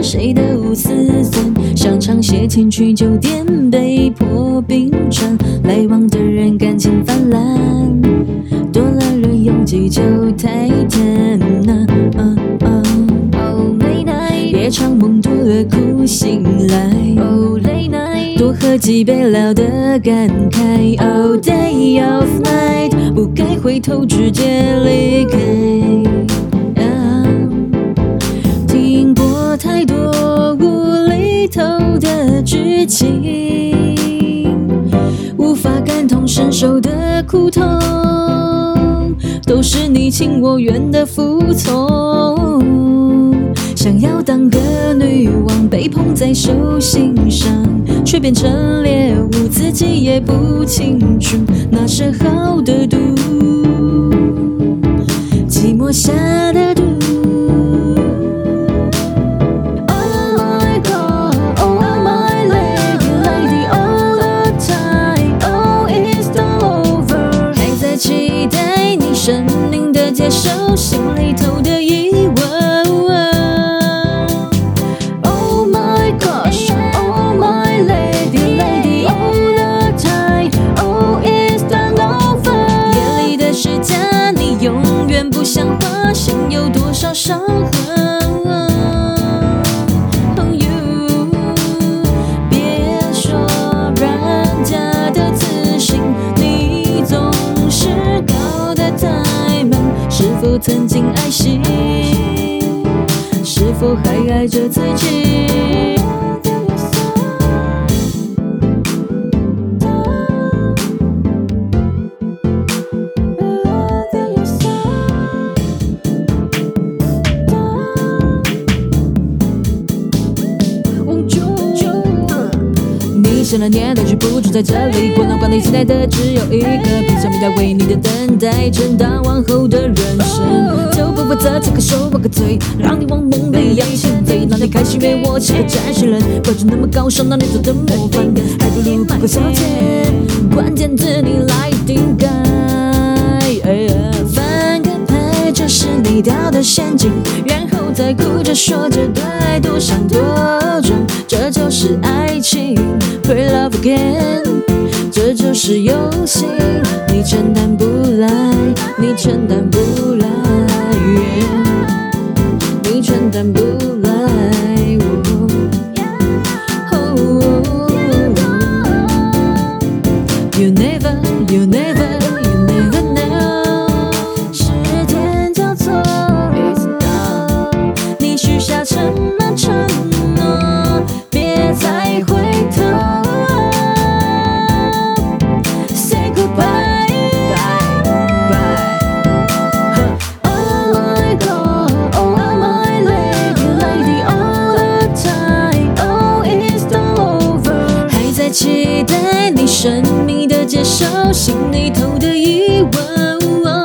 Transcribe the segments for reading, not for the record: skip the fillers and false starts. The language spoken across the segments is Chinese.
誰的無私酸，商場寫情趣酒店被迫冰川，來往的人感情泛濫，多了人擁擠就太貪夜長夢多了苦醒來多喝幾杯聊得感慨 Oh day of night 不該回頭直接離開聽過太多無厘頭的劇情無法感同身受的苦痛都是你情我願的服從想要當個女王被捧在手心上卻變成獵物自己也不清楚那是好的毒寂寞下的毒生命的接受心裡頭的疑問 Oh my gosh Oh my lady lady all the time Oh it's done over 夜裡的世界你永遠不像話心有多少傷痕 Oh you 別說人家的自信你總是搞得太慢是否曾經愛惜是否還愛着自己剩了年代卻不住在這裡過腦管理期待的只有一個披上面帶為你的等待承擔往後的人生就不負責這個手握個嘴讓你往夢裡養心醉讓你開心因為我是個戰士人標準那麼高尚讓你做的模範還不如不過小姐關鍵字你來頂蓋翻個牌這是你掉的陷阱然後再哭着說着對多傷多重這就是愛情Pray love again 這就是遊戲你承擔不來你承擔不來、你承擔不來、You never You never You never know 時間交錯你許下承諾別再回頭期待你神秘的接受心裡頭的疑問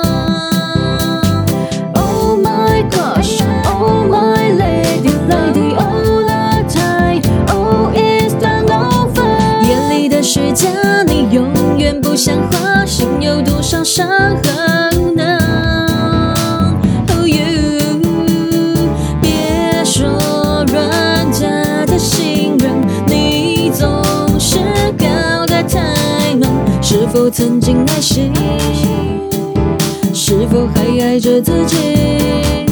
Oh my gosh Oh my lady lady all the time Oh it's done over 夜裡的虛假你永遠不像話心有多少傷痕呢 Oh you 別說人家的信任你總是搞得太慢是否曾經愛惜是否還愛着自己